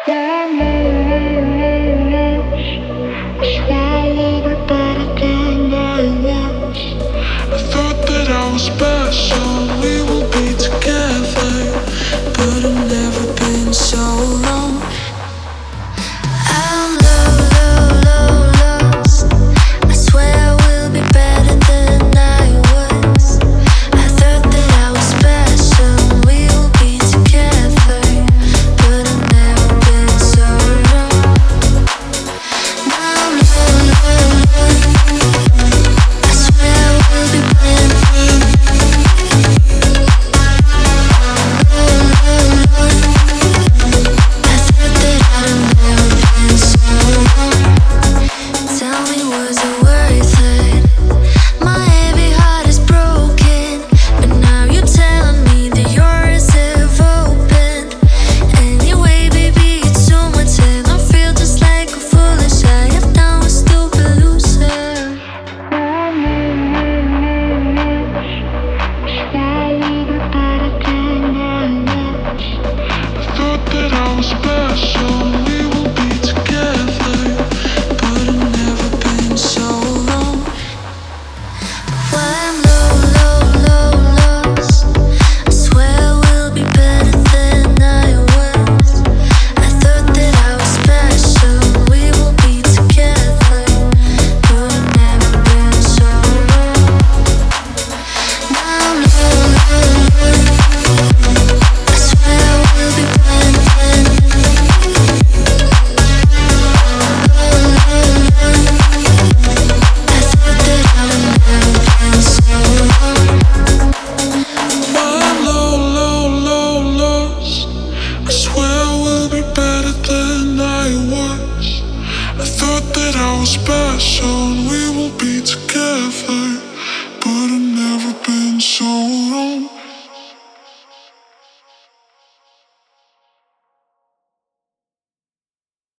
Thought that I was special, we will be together, but I've never been so long. I'm lost. I swear I will be better than I was. I thought that I was special, we will be together, but I've never been so long. I'm lost. I swear I will be better. I thought that I'd never been so long. Tell me, was it worth it? My heavy heart is broken, but now you're telling me that yours have opened. Anyway, baby, it's so much, and I feel just like a foolish. I have done a stupid loser. I thought that I was special, we will be together, but I've never been so long. Well, I'm lost. I swear I will be better than I was. I thought that I was special, we will be together, but I've never been so long. Now I'm lost. I swear I will be better than I thought that I'd never been so long. I'm lost. I swear I will be better than I was. I thought that I was special, and we will be together.